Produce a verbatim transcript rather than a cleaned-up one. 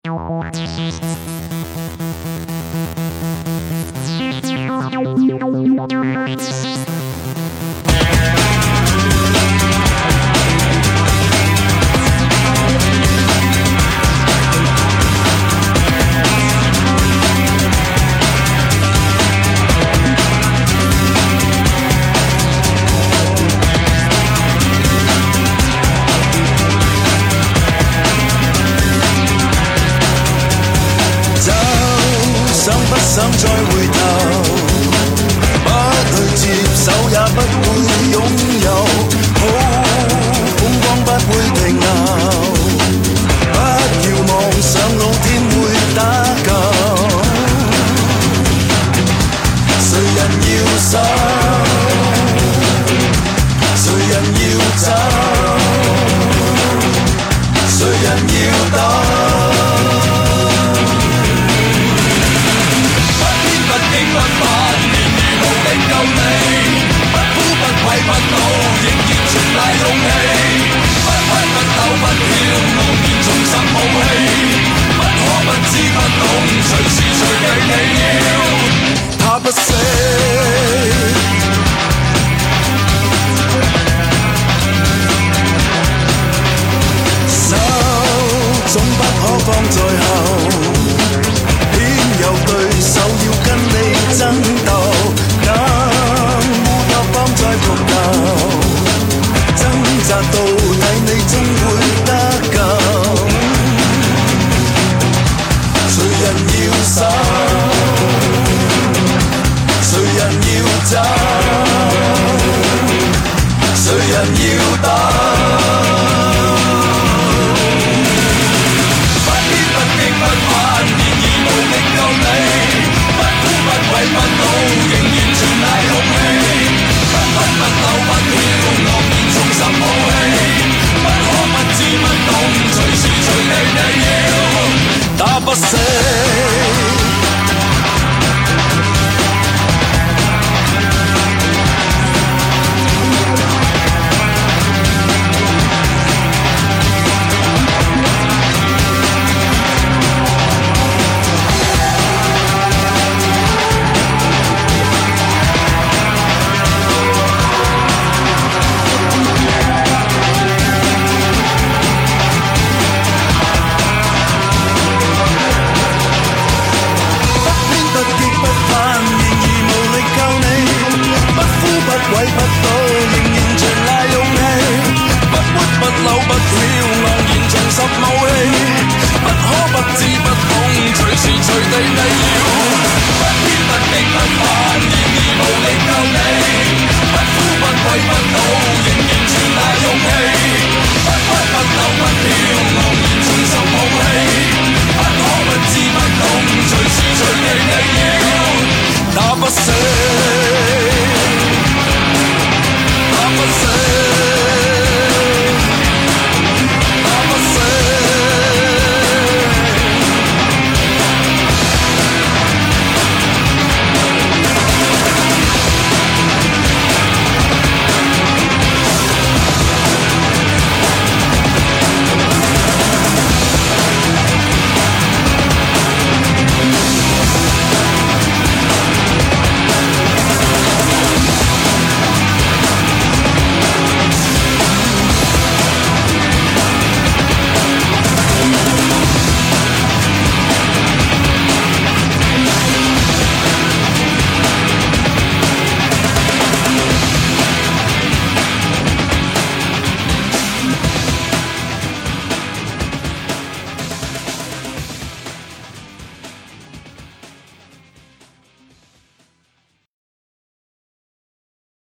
想再回頭，不去接手也不會擁有，好風光不會停留，不要妄想老天會打救，誰人要守，誰人要走，誰人要等。不煩，年年無力救你，不哭不跪不怒，仍然全賴勇氣，不屈不抖不跳，昂然重拾武器，不可不知不懂，隨時隨地你要他不死，手總不可放在後，有對手要跟你爭鬥，更烏托邦在搏鬥，掙扎到底你終會得救，誰人要守，誰人要走，誰人要等。不哭不怒，仍然全賴勇氣，不屈不抖不跳，昂然重拾武器，不可不知不懂，隨時隨地你要打不死。鬼不到，仍然全賴勇氣，不屈不扭不跳，昂然重拾武器，不可不知不懂，隨時隨地你